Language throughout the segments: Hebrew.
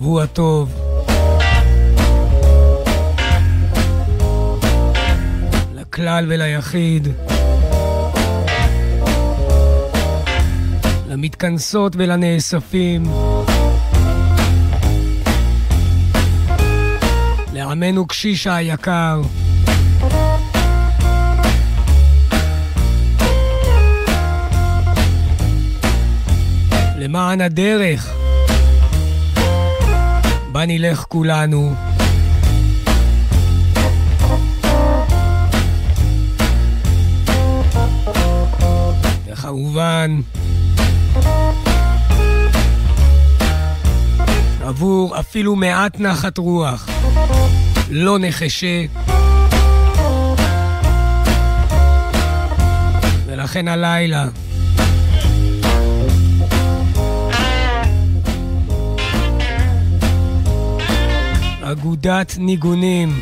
שבוע טוב. לכלל וליחיד. למתכנסות ולנאספים. לעמנו קשישה היקר. למען הדרך בה נלך כולנו. וכמובן עבור אפילו מעט נחת רוח לא נחשה, ולכן הלילה אגודת ניגונים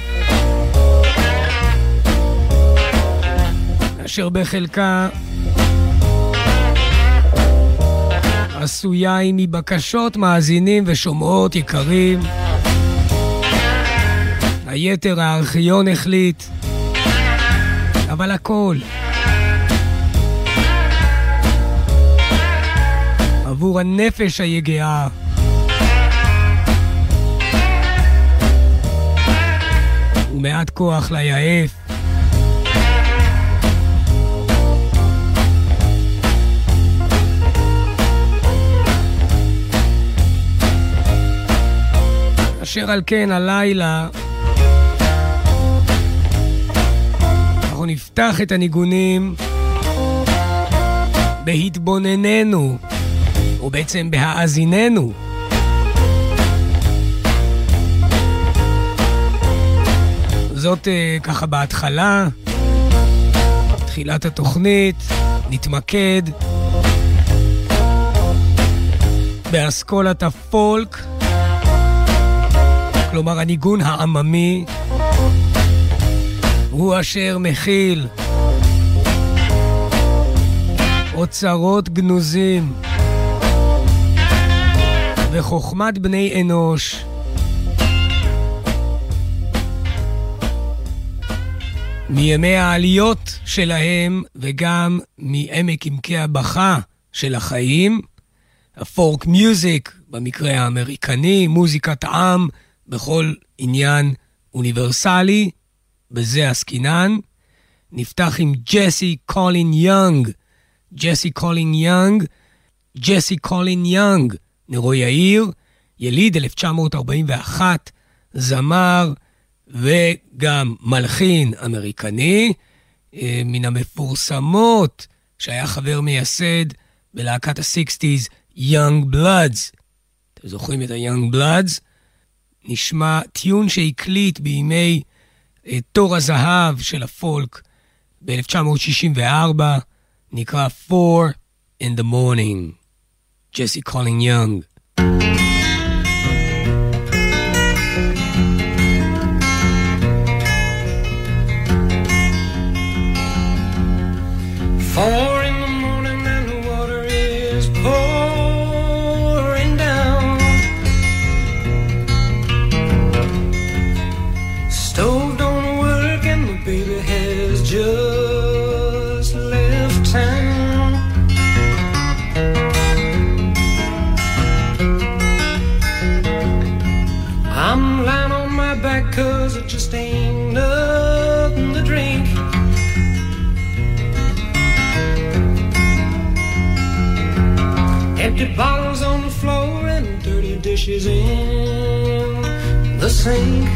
אשר בחלקה עשויה מבקשות מאזינים ושומעות יקרים. היתר הארכיון החליט, אבל הכל עבור הנפש היגעה. ומעט כוח ליעף. אשר על כן הלילה אנחנו נפתח את הניגונים בהתבונננו, או בעצם בהאזיננו זאת ככה בהתחלה, תחילת התוכנית, נתמקד באסכולת הפולק, כלומר הניגון העממי, הוא אשר מכיל אוצרות גנוזים וחוכמת בני אנוש מימי העליות שלהם וגם מעמק עמקי הבכה של החיים. הפורק מיוזיק במקרה האמריקני, מוזיקת עם בכל עניין אוניברסלי, בזה עסקינן. נפתח עם ג'סי קולין יונג. ג'סי קולין יונג, נרו יאיר, יליד 1941, זמר וגם מלחין אמריקני, מן המפורסמות שהיה חבר מייסד בלהקת ה-60s Young Bloods. אתם זוכרים את ה-Young Bloods? נשמע טיון שהקליט בימי תור הזהב של הפולק ב-1964, נקרא 4 in the Morning. ג'סי קולין יונג. Four in the morning and the water is pouring down. Stove don't work and the baby has just left town. I'm lying on my back 'cause it just ain't nothing to drink. Empty bottles on the floor and dirty dishes in the sink.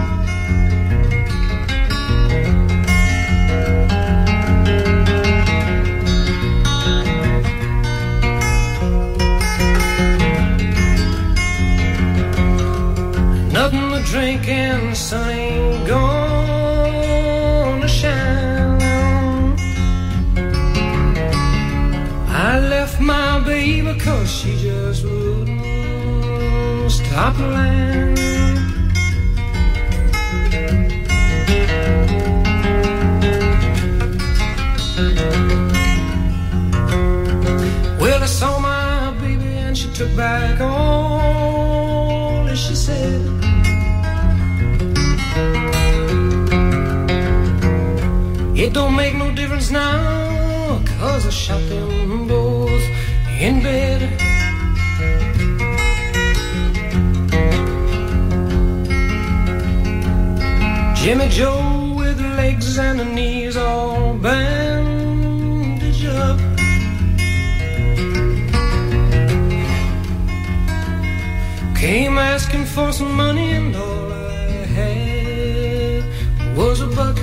Nothing to drink and the sun ain't gonna shine. I left my baby 'cause she just wouldn't stop lying. Well, I saw my baby and she took back all that she don't make no difference now, 'cause I shot them both in bed. Jimmy Joe with legs and the knees all bandaged up. Came asking for some money and all I had was a buck.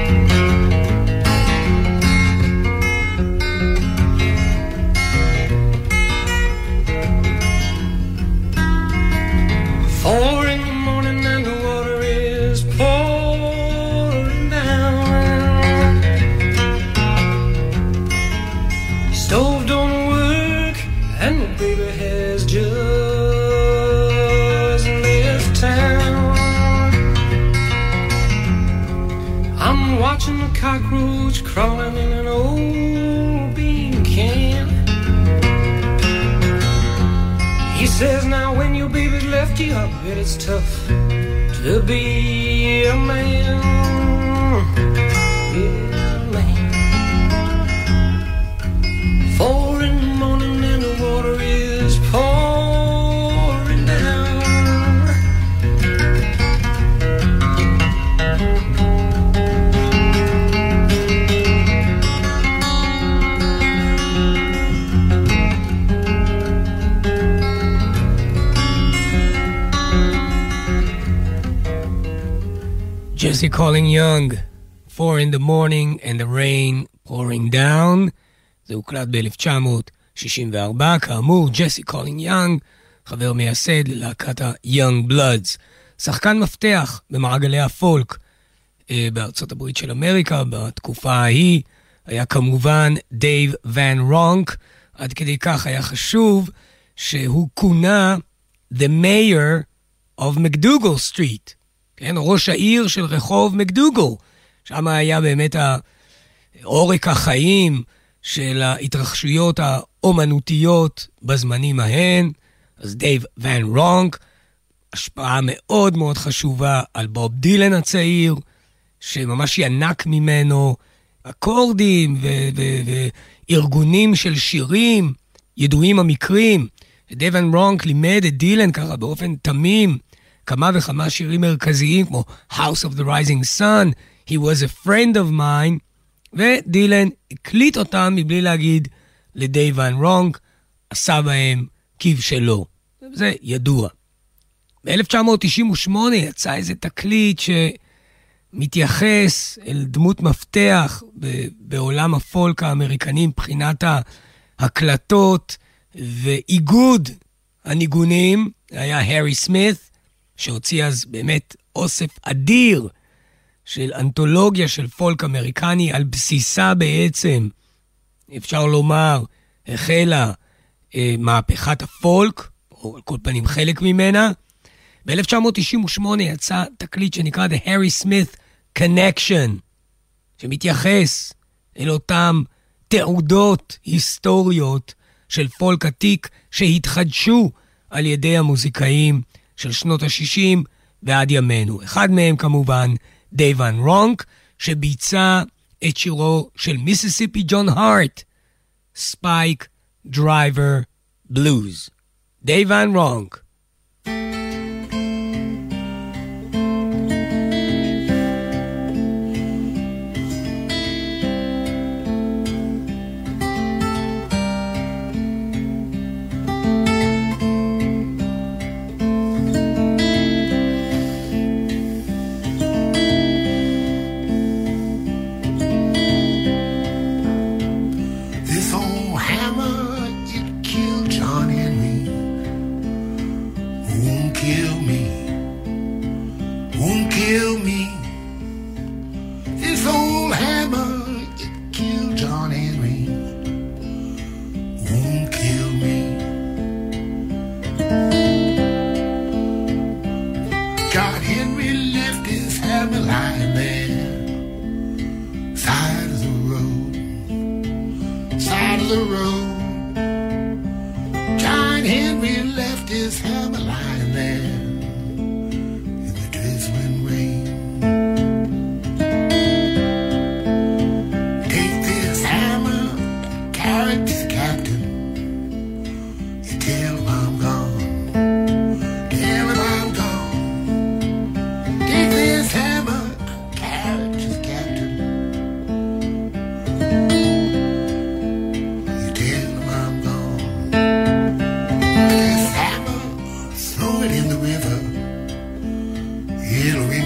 Four in the morning and the water is pouring down. Stove don't work and the baby has just left town. I'm watching the cockroach crawling in an old bean can. He says now when your baby's left you, I bet it's tough to be a man. Yeah, man. 4 in the morning and the water is pouring down. Jesse Calling Young, 4 in the morning and the rain pouring down. זה הוקלט ב-1964, כאמור, ג'סי קולינג יונג, חבר מייסד ללהקת ה-Young Bloods. שחקן מפתח במעגלי הפולק בארצות הברית של אמריקה, בתקופה ההיא, היה כמובן דייב ון רונק, עד כדי כך היה חשוב שהוא כונה The Mayor of McDougal Street, כן, ראש העיר של רחוב מקדוגל. שם היה באמת עורק החיים של ההתרחשויות האומנותיות בזמנים ההן. אז דייב ון רונק, השפעה מאוד מאוד חשובה על בוב דילן הצעיר, שממש ינק ממנו אקורדים וארגונים של שירים, ידועים המקרים. דייב ון רונק לימד את דילן ככה באופן תמים, כמה וכמה שירים מרכזיים, כמו House of the Rising Sun, He was a friend of mine, ודילן הקליט אותם מבלי להגיד לדייב ון רונק, עשה בהם כבשלו. זה ידוע. ב-1998 יצא איזה תקליט שמתייחס אל דמות מפתח בעולם הפולק האמריקני, מבחינת ההקלטות ואיגוד הניגונים. היה הרי סמית, שהוציא אז באמת אוסף אדיר של אנתולוגיה של פולק אמריקני, על בסיסה בעצם, אפשר לומר, החלה מהפכת הפולק, או על כל פנים חלק ממנה. ב-1998 יצא תקליט שנקרא The Harry Smith Connection, שמתייחס אל אותם תעודות היסטוריות של פולק עתיק שהתחדשו על ידי המוזיקאים של שנות ה-60 ועד ימינו. אחד מהם כמובן דייב ון רונק, שביצע את שירו של מיסיסיפי ג'ון הארט, ספייק דרייבר בלוז. דייב ון רונק.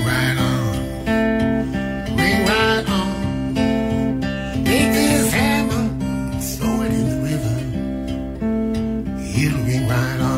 right on. Ring right on. Take this hammer, throw it in the river. It'll ring right on.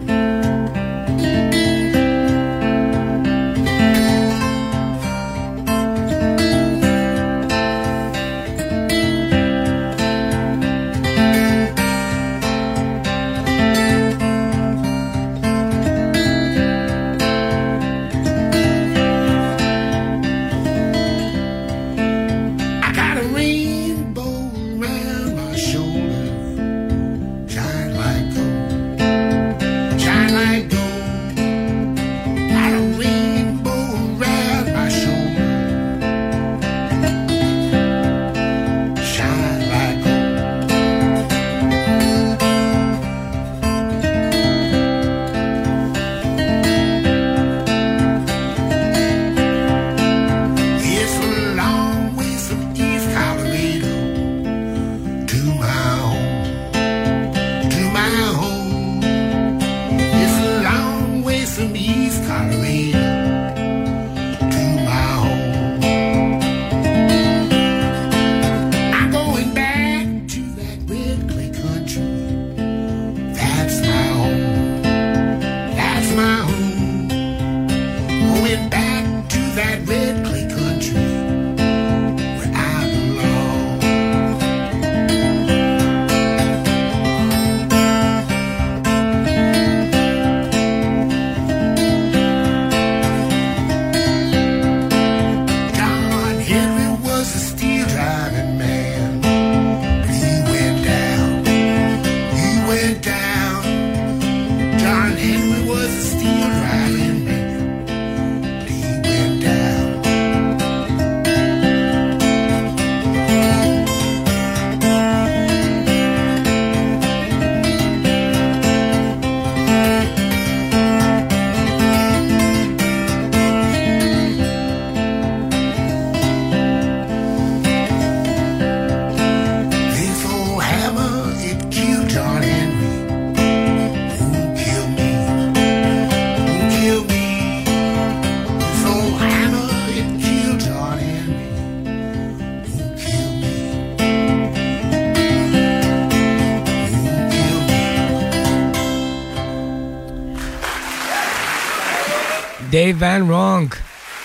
דייב ון רונק,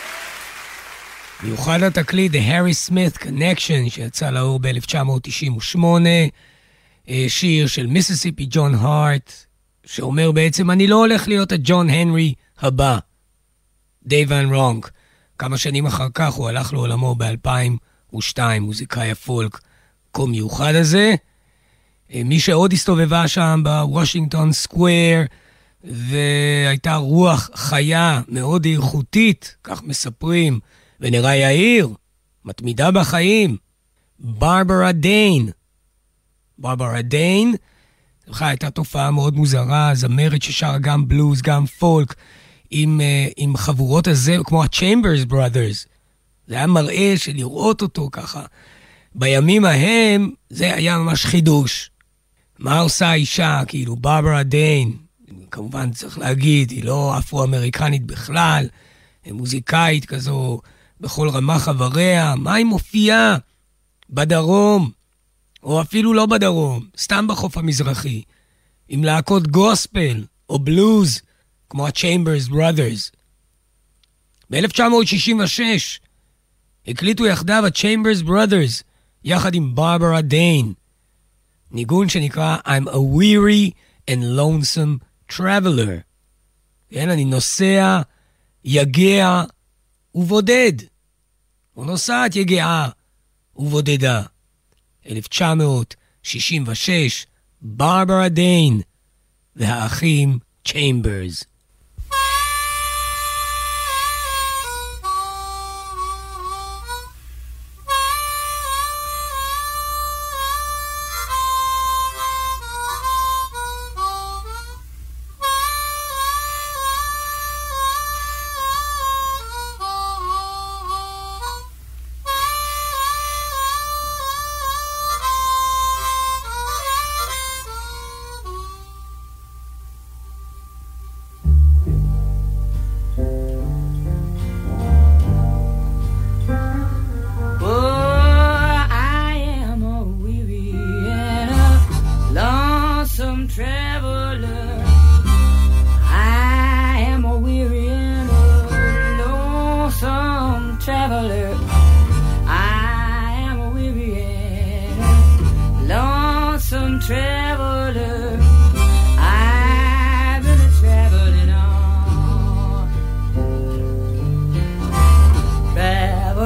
מיוחד התקליט The Harry Smith Connection שיצא לאור ב-1998, שיר של מיסיסיפי ג'ון הארט, שאומר בעצם אני לא הולך להיות הג'ון הנרי הבא. דייב ון רונק, כמה שנים אחר כך הוא הלך לעולמו ב-2002, מוזיקאי הפולק כה מיוחד הזה. מי שעוד הסתובבה שם בוושינגטון סקוואר, והייתה רוח חיה מאוד איכותית, כך מספרים, ונראה יאיר, מתמידה בחיים, ברברה דיין. ברברה דיין, הייתה תופעה מאוד מוזרה, זמרת ששרה גם בלוז, גם פולק, עם חבורות הזה, כמו ה-Chambers Brothers. זה היה מראה של לראות אותו ככה. בימים ההם, זה היה ממש חידוש. מה עושה האישה? כאילו, ברברה דיין, כמובן צריך להגיד, היא לא אפרו-אמריקנית בכלל, היא מוזיקאית כזו בכל רמה חבריה. מה היא מופיעה? בדרום, או אפילו לא בדרום, סתם בחוף המזרחי, עם להקות גוספל או בלוז, כמו ה-Chambers Brothers. ב-1966 הקליטו יחדיו ה-Chambers Brothers, יחד עם ברברה דיין, ניגון שנקרא I'm a weary and lonesome traveler. כן, אני נוסע, יגע ובודד. או נוסעת יגעה ובודדה. 1966, ברברה דיין והאחים צ'יימברס.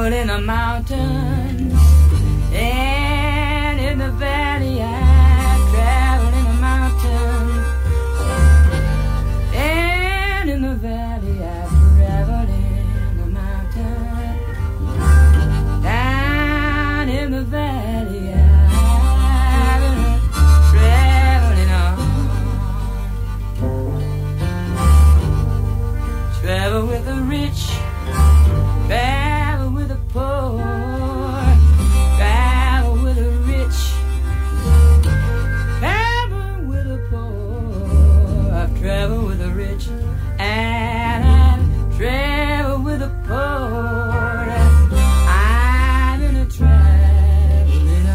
traveled in the mountains and in the valley. I traveled in the mountains and in the valley. I traveled in the mountains, down in the valley. I've been traveling on. Travel with the rich, travel with the poor, travel with the rich, travel with the poor. I've traveled with the rich and I've traveled with the poor. I've been a traveling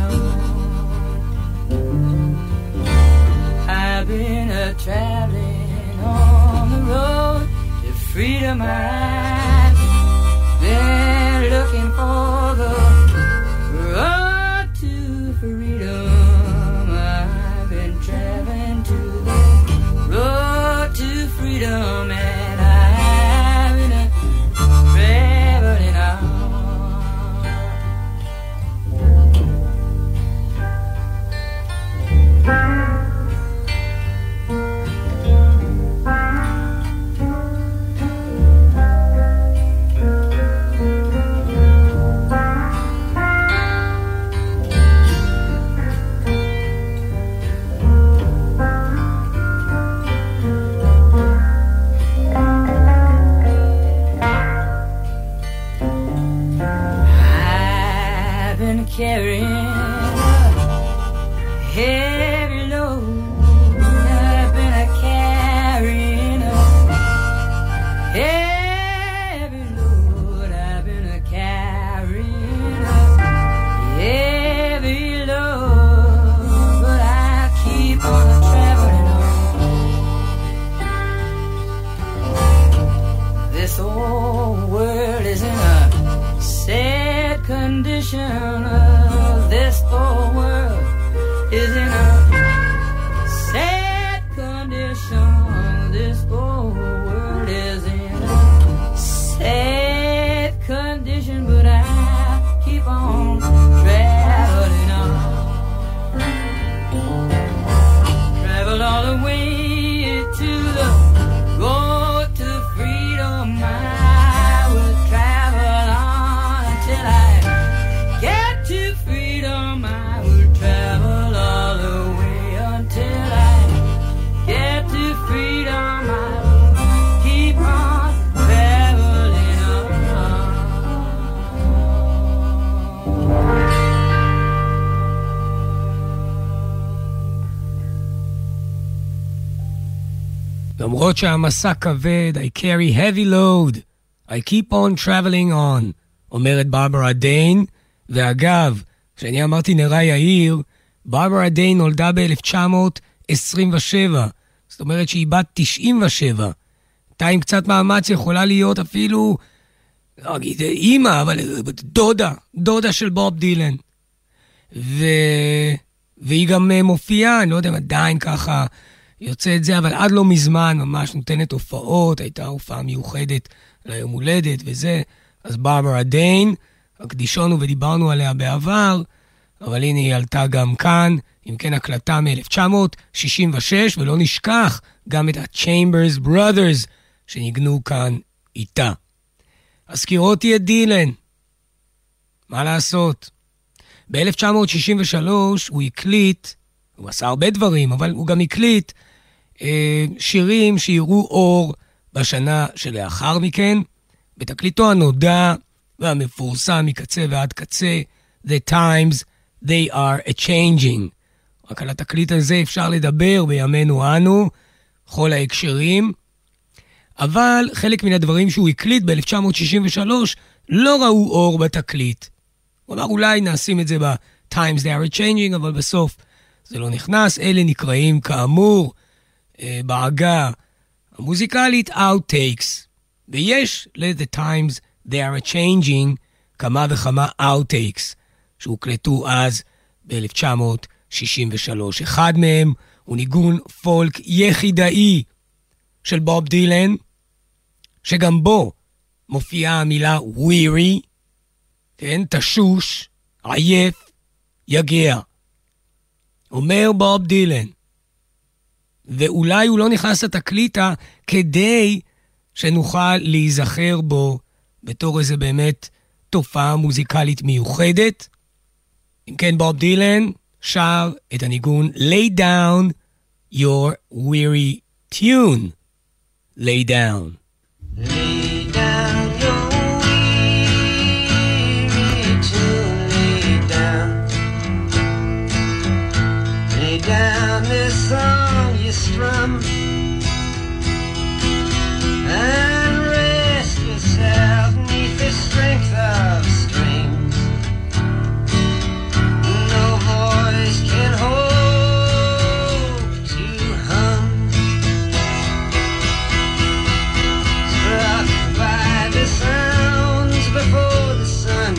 on. I've been a traveling on the road to freedom. I've been looking for the road to freedom. I've been traveling to the road to freedom, and I've been traveling on. Carrying a heavy load. I've been carrying a heavy load. I've been carrying a heavy load, but I keep on traveling on. This old world is in a sad condition. This whole world is in a sad condition. This whole world is in a sad condition, but I keep on traveling on. Travel all the way to the road to freedom. I will travel on until I get to freedom. I will travel all the way until I get to freedom. I will keep on traveling on. למרות שהמסע כבד, I carry heavy load, I keep on traveling on, אומרת ברברה דיין. ואגב, כשאני אמרתי נראה יאיר, ברברה דיין נולדה ב-1927, זאת אומרת שהיא בת 97. אתה עם קצת מאמץ יכולה להיות אפילו, לא אגיד אימא, אבל דודה של בוב דילן. והיא גם מופיעה, אני לא יודע אם עדיין ככה יוצא את זה, אבל עד לא מזמן ממש נותנת הופעות, הייתה הופעה מיוחדת ליום הולדת וזה. אז ברברה דיין, הקדישון ודיברנו עליה בעבר, אבל הנה היא עלתה גם כאן, אם כן הקלטה מ-1966, ולא נשכח גם את ה-Chambers Brothers שניגנו כאן איתה. הזכירותי את דילן, מה לעשות? ב-1963 הוא הקליט, הוא עשה הרבה דברים, אבל הוא גם הקליט שירים שיראו אור בשנה שלאחר מכן, בתקליטו הנודע והמפורסם מקצה ועד קצה, The Times They Are A-Changing. רק על התקליט הזה אפשר לדבר בימינו אנו, כל ההקשרים, אבל חלק מן הדברים שהוא הקליט ב-1963 לא ראו אור בתקליט. הוא אמר אולי נשים את זה ב-Times They Are A-Changing, אבל בסוף זה לא נכנס. אלה נקראים כאמור בעגה המוזיקלית Outtakes, ויש ל-The Times They Are A-Changing כמה וכמה Outtakes שהוקלטו אז ב-1963. אחד מהם הוא ניגון פולק יחידאי של בוב דילן, שגם בו מופיעה המילה weary, כן, תשוש, עייף, יגיע. אומר בוב דילן. ואולי הוא לא נכנס לתקליטה כדי שנוכל להיזכר בו בתור איזה באמת תופעה מוזיקלית מיוחדת. אם כן, בוב דילן שר את הניגון Lay Down Your Weary Tune. Lay down. Lay down your weary tune, lay down. Lay down this song you strum and rest yourself neath the strength of strings. No voice can hope to hum. Struck by the sounds before the sun,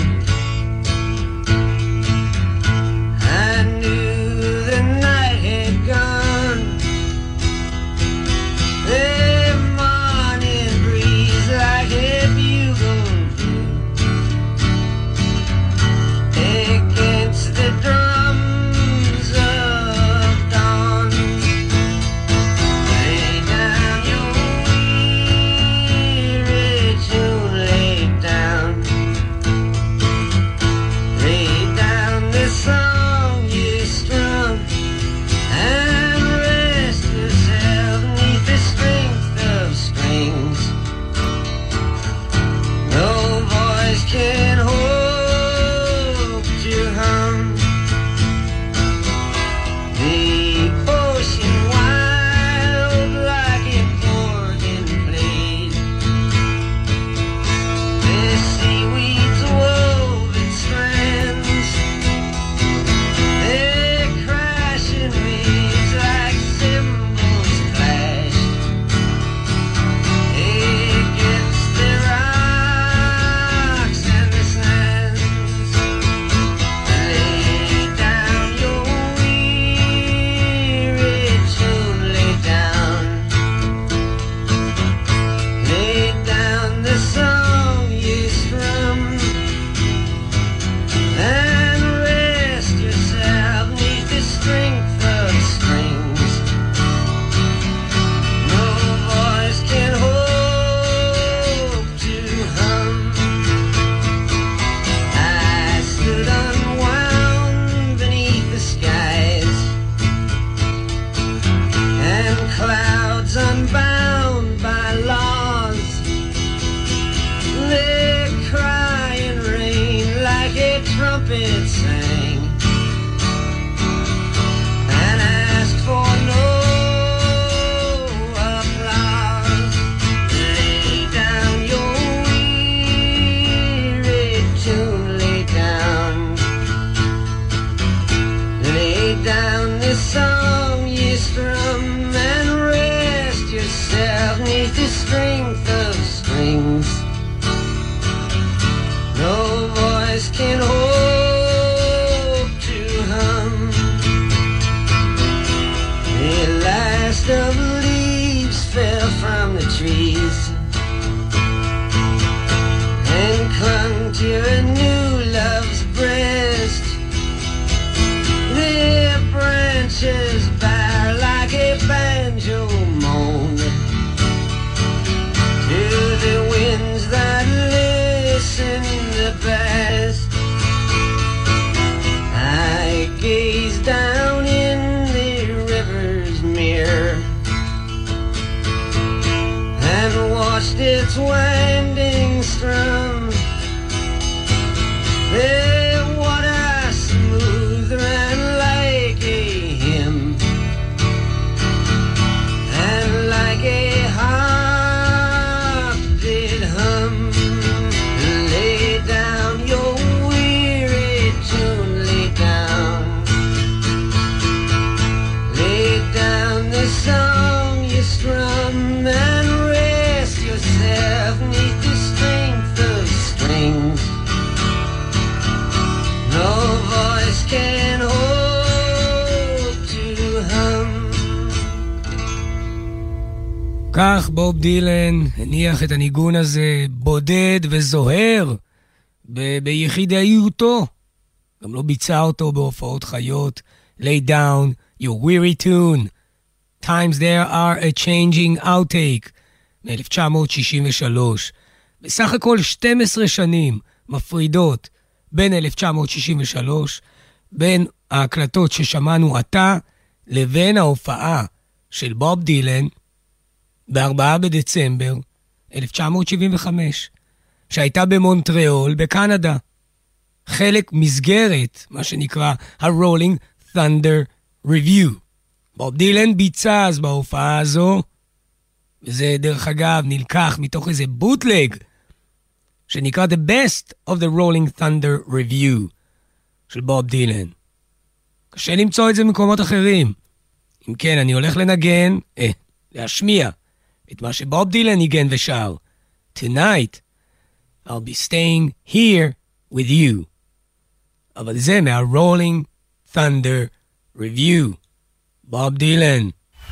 I knew the night had gone. The morning breeze like a bugle blew against the drums of dawn. Lay down your weary tune, lay down. Lay down the song you strum and rest yourself neath the strength of strings. No voice can hope to hum. The ocean wild like an organ played. The seaweeds wove its strands. The crashing waves like cymbals clashed against the rocks and the sands. Lay down your weary tune, lay down. Lay down the song you strum and rest yourself neath the strength of strings. No voice can hope to hum. I stood unwound beneath the skies and clouds unbound by laws. The crying rain like a trumpet sang and asked for no applause. Lay down your weary tune, lay down. Lay down the song you strum and rest yourself neath the strength of strings. No voice can hope to hum. The last of leaves fell from the trees and clung to a new love's breast. The branches bare like a banjo moan to the winds that listen the best. I gazed down in the river's mirror and watched its winding strum. The water smooth ran like a hymn and like a harp did hum. Lay down your weary tune, lay down. Lay down the song you strum and rest yourself neath the strength of strings. No voice can hope to hum. כך בוב דילן הניח את הניגון הזה בודד וזוהר ביחידאיותו. גם לא ביצע אותו בהופעות חיות. Lay down your weary tune. Times there are a changing outtake. מ-1963. בסך הכל 12 שנים מפרידות בין 1963, בין ההקלטות ששמענו עתה, לבין ההופעה של בוב דילן ב-4 בדצמבר 1975, שהייתה במונטריאול בקנדה. חלק מסגרת, מה שנקרא ה-Rolling Thunder Review. בוב דילן ביצע אז בהופעה הזו, וזה דרך אגב נלקח מתוך איזה בוטלג, שנקרא The Best of the Rolling Thunder Review של בוב דילן. קשה למצוא את זה במקומות אחרים. אם כן, אני הולך לנגן, להשמיע את מה שבוב דילן ניגן ושר. Tonight, I'll be staying here with you. אבל זה מה-Rolling Thunder Review. בוב דילן.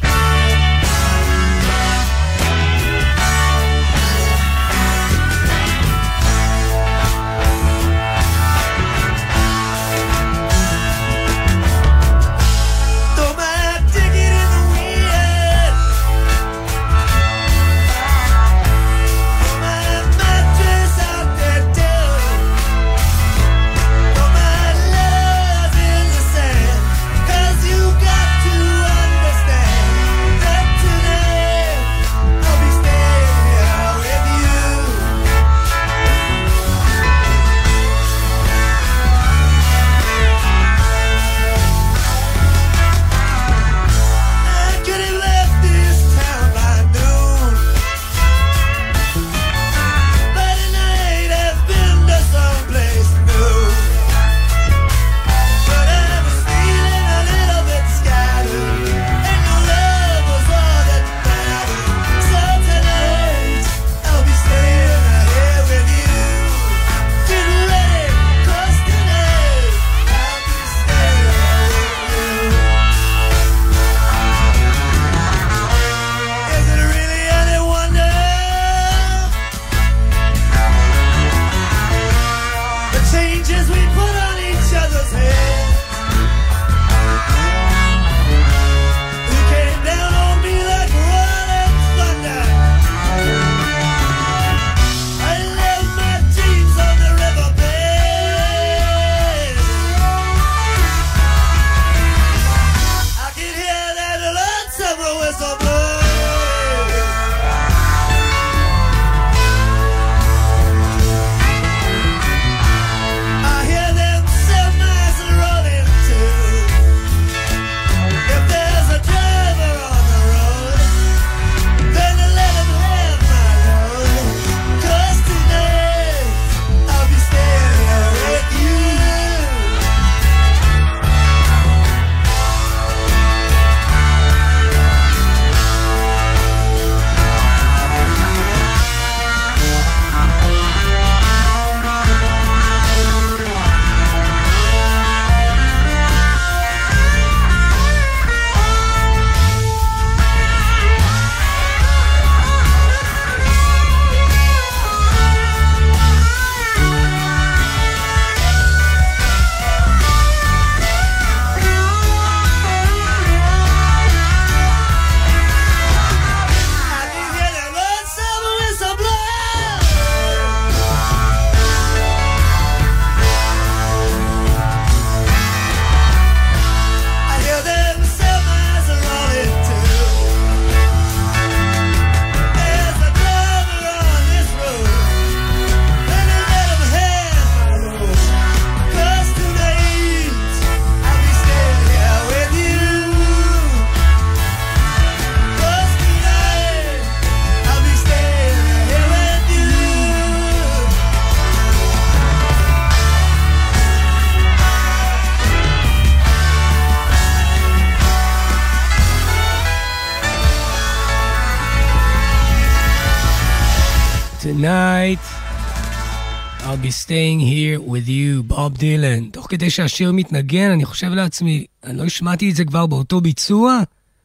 Tonight, I'll be staying here with you, בוב דילן. תוך כדי שהשיר מתנגן, אני חושב לעצמי, אני לא השמעתי את זה כבר באותו ביצוע?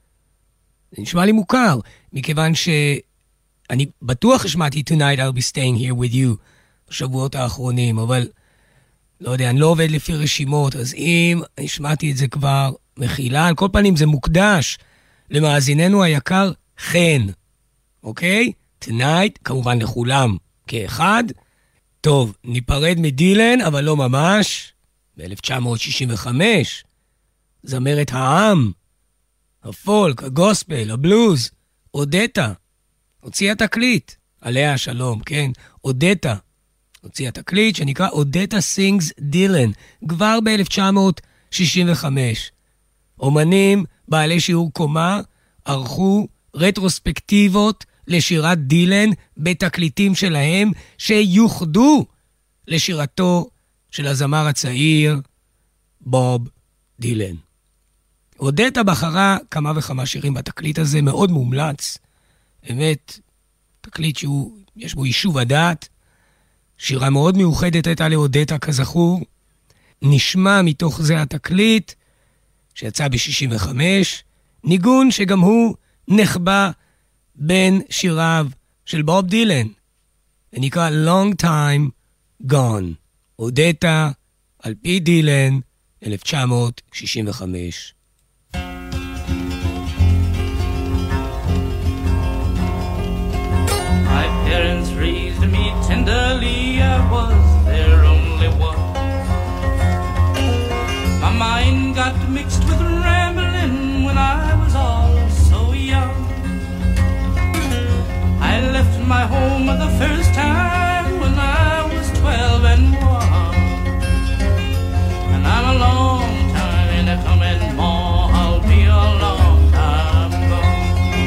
זה נשמע לי מוכר, מכיוון שאני בטוח השמעתי Tonight, I'll be staying here with you בשבועות האחרונים, אבל לא יודע, אני לא עובד לפי רשימות, אז אם השמעתי את זה כבר, מחילה, על כל פנים זה מוקדש למאזיננו היקר חן, אוקיי? Tonight, כמובן לכולם כאחד. טוב, ניפרד מדילן, אבל לא ממש. ב-1965, זמרת העם, הפולק, הגוספל, הבלוז, אודטה, הוציאה תקליט, עליה השלום, כן? אודטה, הוציאה תקליט שנקרא אודטה סינגס דילן, כבר ב-1965. אומנים בעלי שיעור קומה ערכו רטרוספקטיבות לשירת דילן בתקליטים שלהם שיוחדו לשירתו של הזמר הצעיר בוב דילן. אודטה בחרה כמה וכמה שירים בתקליט הזה, מאוד מומלץ. באמת, תקליט שיש בו יישוב הדעת. שירה מאוד מיוחדת הייתה לאודטה כזכור. נשמע מתוך זה התקליט שיצא ב-65, ניגון שגם הוא נחבא בין שיריו של בוב דילן. זה נקרא Long Time Gone. אודטה על פי דילן, 1965. My parents raised me tenderly, I was their only one. My mind got mixed with rambling when I was all so young. I left my home the first time when I was 12 and 1. And I'm a long time in the coming, more I'll be a long time gone.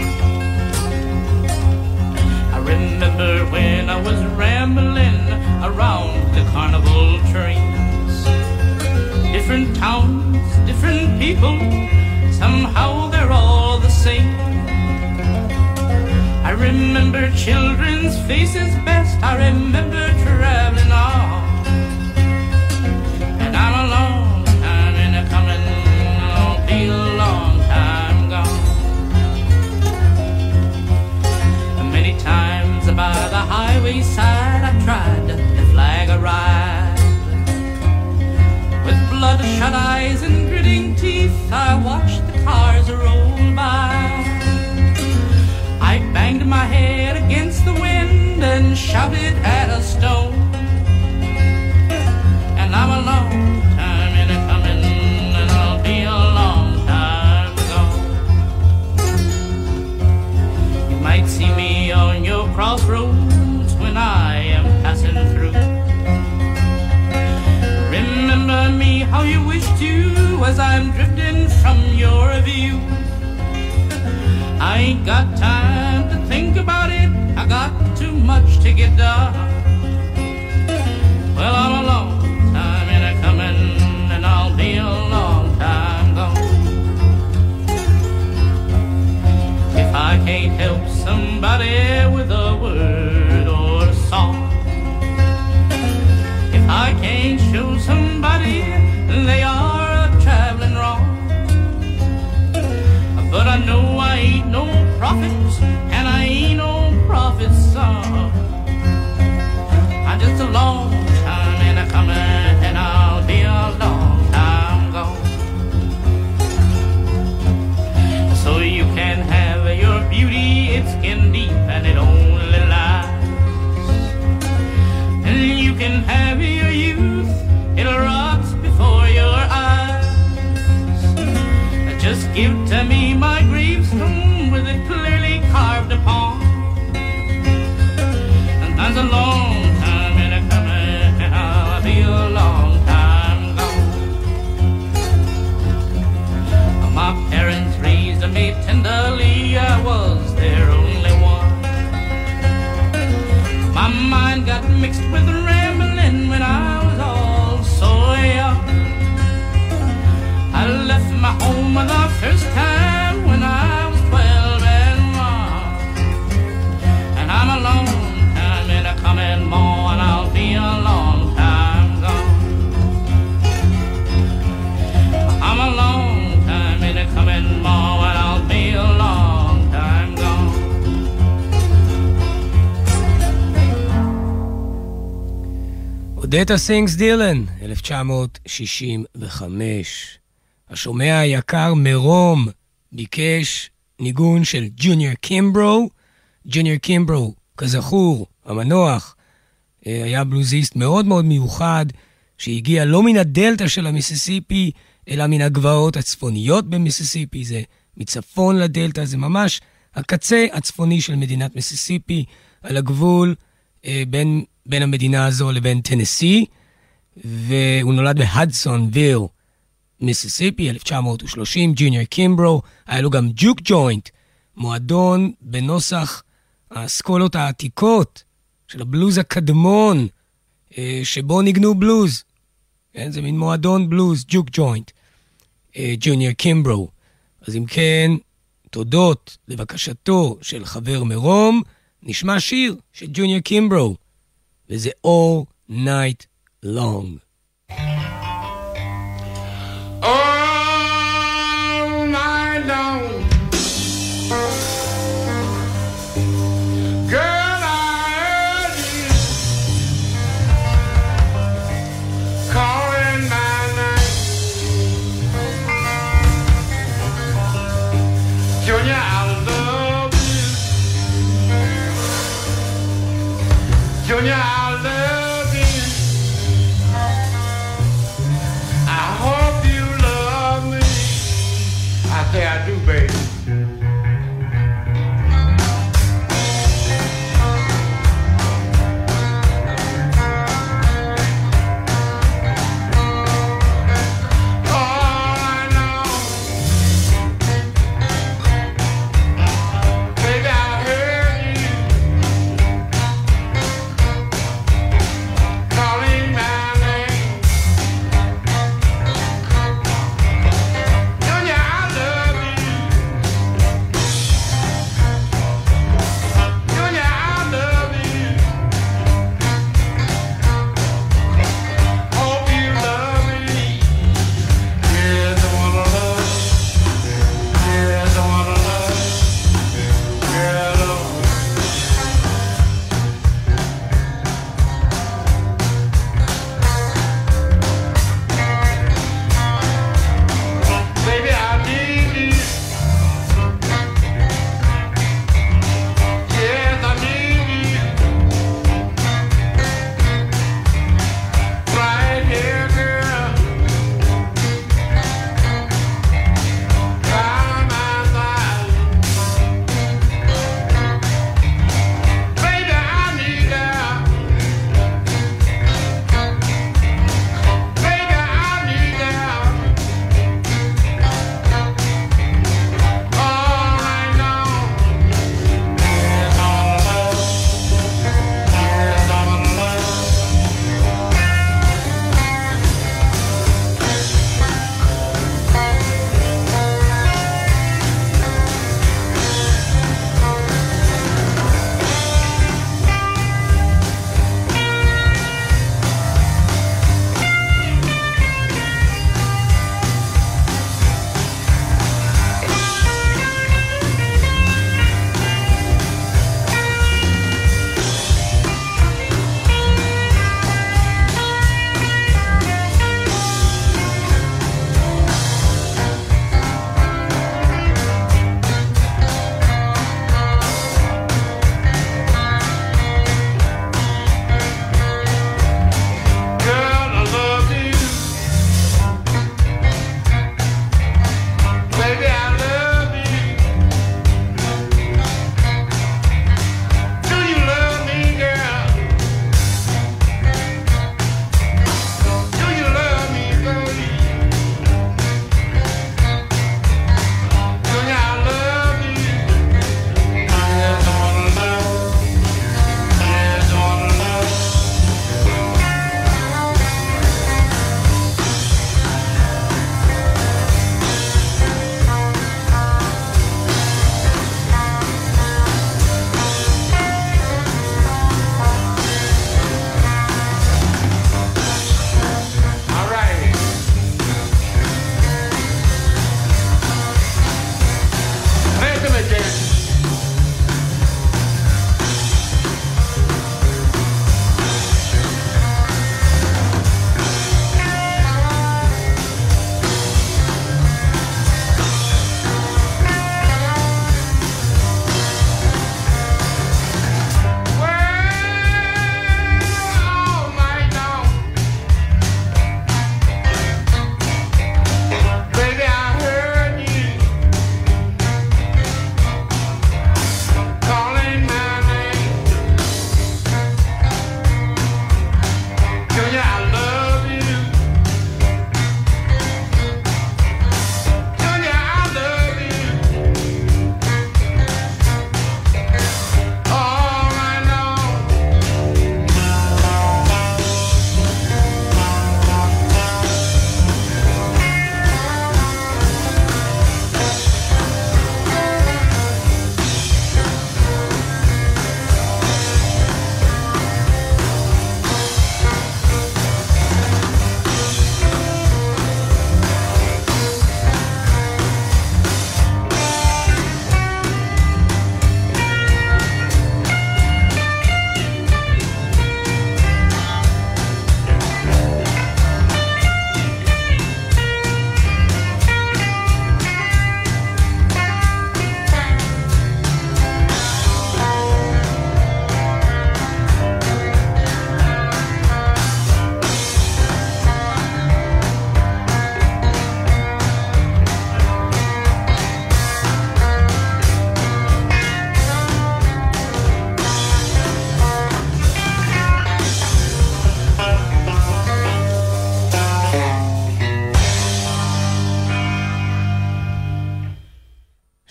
I remember when I was rambling around the carnival trains. Different towns, different people, somehow they're all the same. I remember children's faces best, I remember traveling on. And I'm a long time in a coming, I'll be a long time gone. Many times by the highway side I tried to flag a ride. With bloodshot eyes and gritting teeth I watched the cars roll by. I banged my head against the wind and shouted at a stone. And I'm a long time in a coming, and I'll be a long time gone. You might see me on your crossroads when I am passing through. Remember me how you wish to as I'm drifting from your view. I ain't got time to think about it, I got too much to get done. Well, I'm a long time in a coming, and I'll be a long time gone. If I can't help somebody with a word or a song, if I can't show somebody they are traveling wrong, but I know I ain't no prophet, and I ain't no prophet's son. I'm just a long time in a coming, and I'll be a long time gone. So you can have your beauty, it's skin deep and it only lies. And you can have your youth, it rots before your eyes. Just give to me my gravestone with it clearly carved upon. And that's a long time in a coming, and I'll be a long time gone. My parents raised me tenderly, I was their only one. My mind got mixed with rambling when I was all so young. I left my home the first time when I was 12 and 1. And I'm a long time in a coming, more and I'll be a long time gone. I'm a long time in a coming, more and I'll be a long time gone. אודטה סינגס דילן, 1965. השומע היקר מרום ביקש ניגון של ג'וניור קימברו. ג'וניור קימברו, כזכור, המנוח, היה בלוזיסט מאוד מאוד מיוחד, שהגיע לא מן הדלטה של המיסיסיפי, אלא מן הגבעות הצפוניות במיסיסיפי. זה מצפון לדלטה, זה ממש הקצה הצפוני של מדינת מיסיסיפי, על הגבול בין המדינה הזו לבין טנסי, והוא נולד בהדסונוויל, מיסיסיפי, 1930, ג'וניור קימברו. היה לו גם ג'וק ג'וינט, מועדון בנוסח האסכולות העתיקות של הבלוז הקדמון, שבו ניגנו בלוז. כן, זה מין מועדון בלוז, ג'וק ג'וינט, ג'וניור קימברו. אז אם כן, תודות לבקשתו של חבר מרום, נשמע שיר של ג'וניור קימברו, וזה All Night Long. All night long, girl, I heard you calling my name. Junior, I love you. Junior, I love you. I hope you love me. I say I do, baby. All I know, baby, I heard you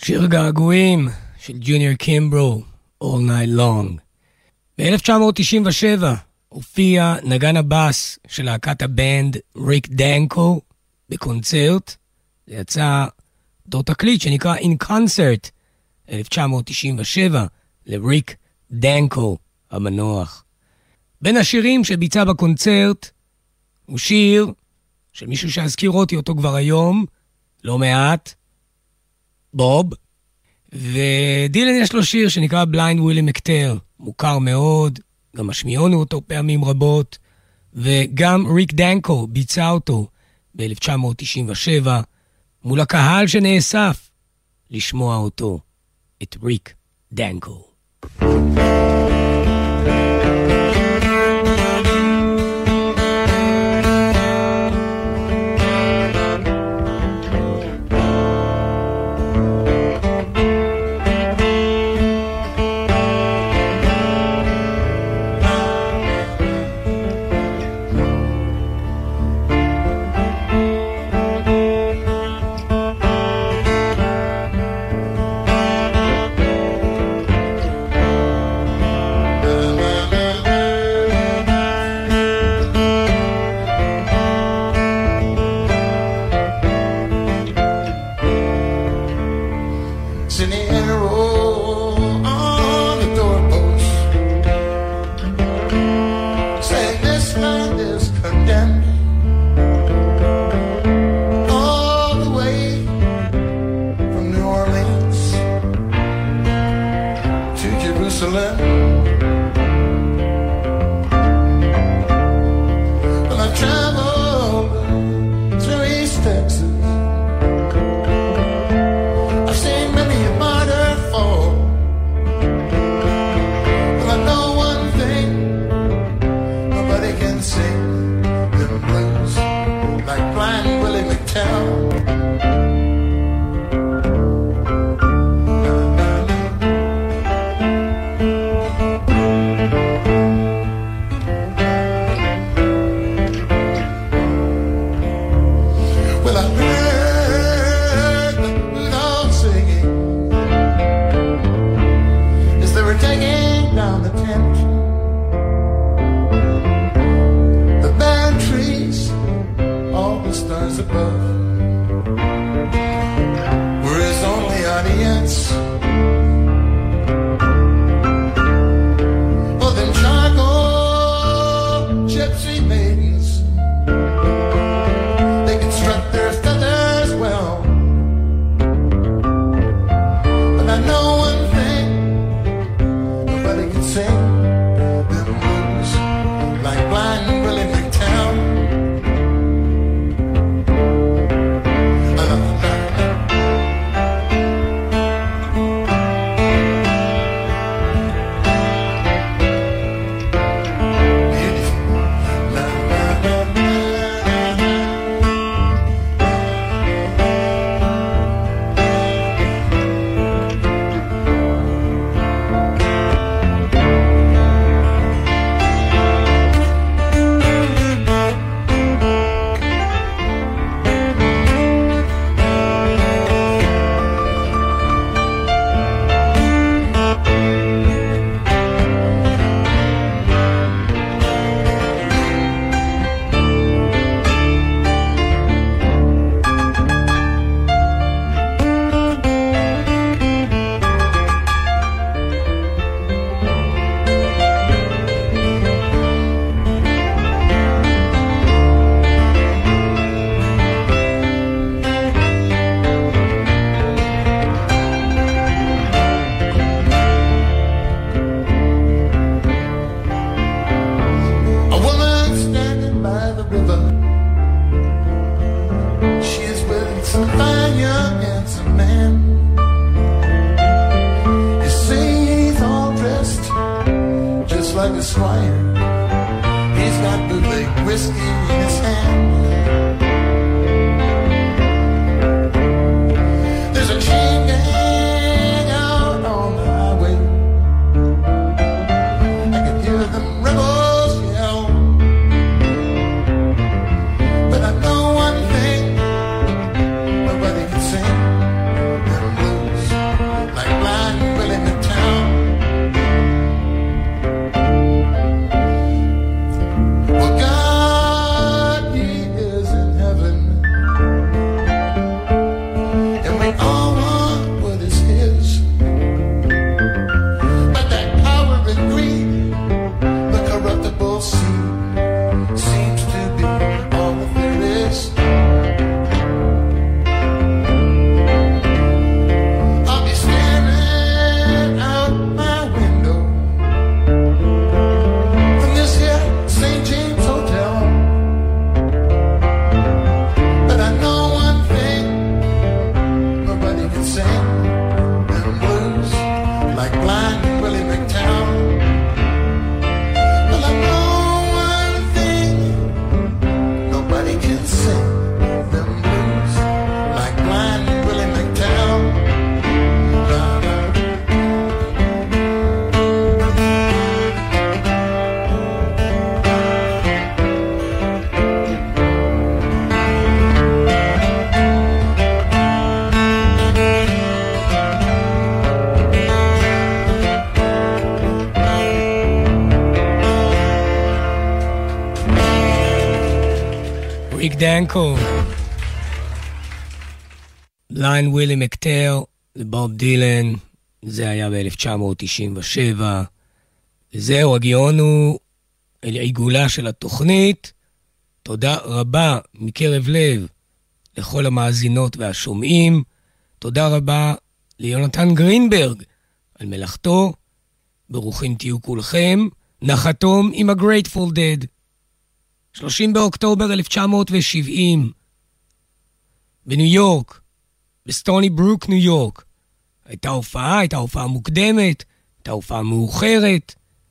שיר געגועים של ג'וניור קימברו, All Night Long. ב-1997 הופיע נגן הבאס של להקת הבנד ריק דנקו בקונצרט. זה יצא אותו תקליט שנקרא In Concert 1997 לריק דנקו המנוח. בין השירים שביצע בקונצרט הוא שיר של מישהו שהזכיר אותי אותו כבר היום, לא מעט, בוב, ודילן יש לו שיר שנקרא בליינד ווילי מקטר, מוכר מאוד, גם השמיעונו אותו פעמים רבות, וגם ריק דנקו ביצע אותו ב-1997, מול הקהל שנאסף לשמוע אותו, את ריק דנקו. Nobody can sing them blues ריק דנקו. ליין ווילי מקטר לבוב דילן, זה היה ב-1997. וזהו, הגיענו אל העיגולה של התוכנית. תודה רבה מקרב לב לכל המאזינות והשומעים. תודה רבה ליונתן גרינברג על מלאכתו. ברוכים תהיו כולכם. נחתום עם ה-Grateful Dead. 30 באוקטובר 1970. בניו יורק, בסטוני ברוק, ניו יורק. הייתה הופעה מוקדמת, הייתה הופעה מאוחרת.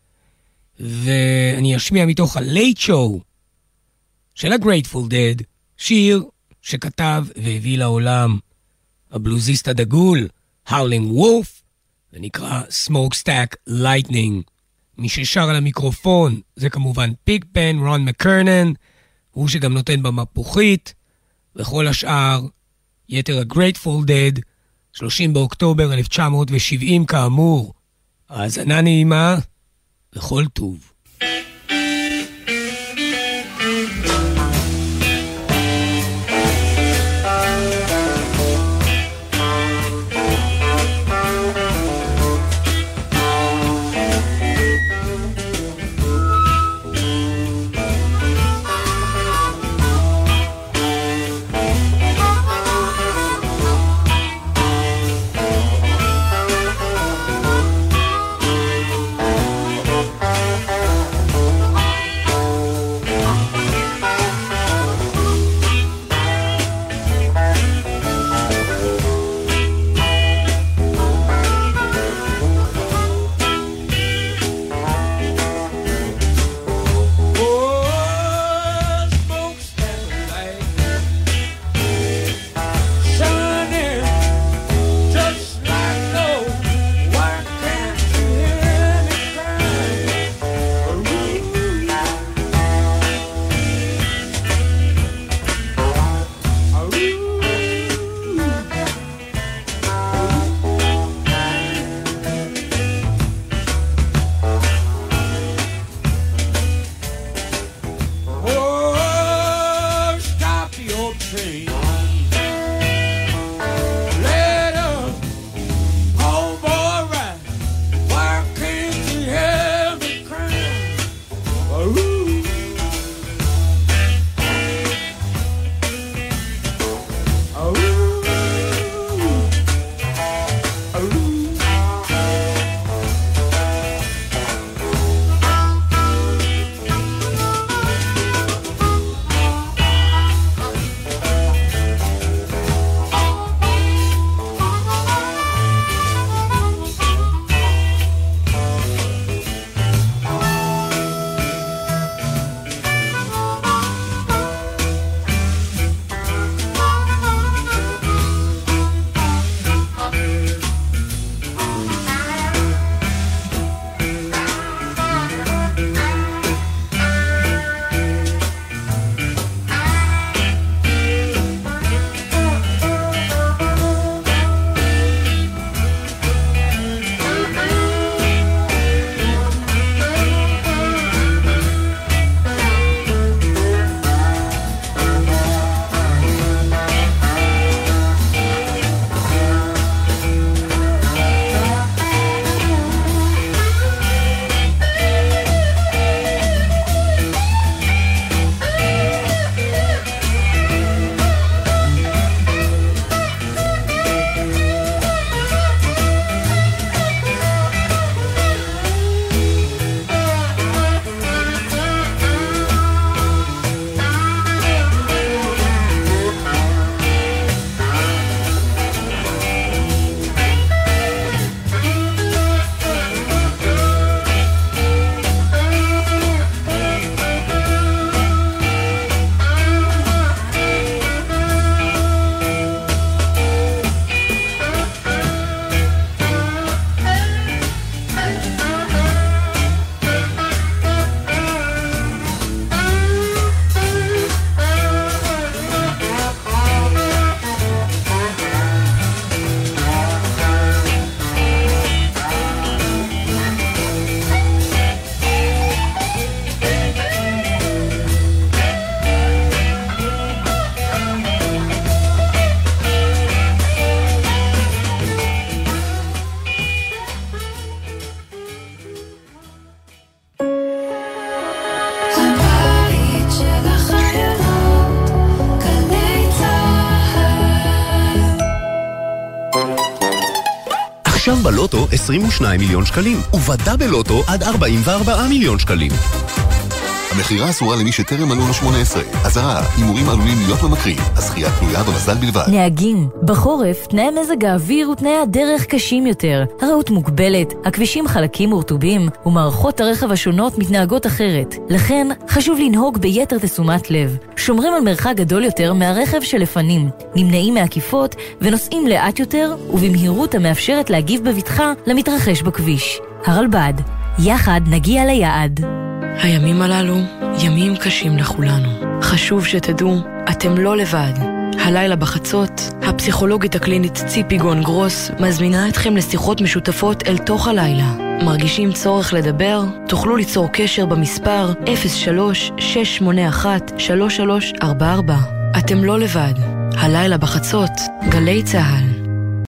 ואני אשמיע מתוך ה-Late Show של ה-Grateful Dead, שיר שכתב והביא לעולם הבלוזיסט הדגול, Howling Wolf, ונקרא Smokestack Lightning. מי ששר על המיקרופון זה כמובן פיגפן, רון מקרנן, הוא שגם נותן במפוחית, וכל השאר, יתר ה-Grateful Dead, 30 באוקטובר 1970 כאמור. האזנה נעימה וכל טוב. עכשיו בלוטו 22 מיליון שקלים, ובדאבל לוטו עד 44 מיליון שקלים. המחירה אסורה למי שטרם מלאו לו 18. אזהרה, הימורים עלולים להיות ממכרים. הזכייה תלויה במזל בלבד. נהגים, בחורף תנאי מזג האוויר ותנאי הדרך קשים יותר. הראות מוגבלת, הכבישים חלקים ורטובים, ומערכות הרכב השונות מתנהגות אחרת. לכן חשוב לנהוג ביתר תשומת לב. שומרים על מרחק גדול יותר מהרכב שלפנים, נמנעים מעקיפות ונוסעים לאט יותר ובמהירות המאפשרת להגיב בבטחה למתרחש בכביש. הרלב"ד, יחד נגיע ליעד. הימים הללו ימים קשים לכולנו. חשוב שתדעו, אתם לא לבד. הלילה בחצות, הפסיכולוגית הקלינית ציפי גון גרוס מזמינה אתכם לשיחות משותפות אל תוך הלילה. מרגישים צורך לדבר? תוכלו ליצור קשר במספר 03-681-3344. אתם לא לבד. הלילה בחצות, גלי צהל.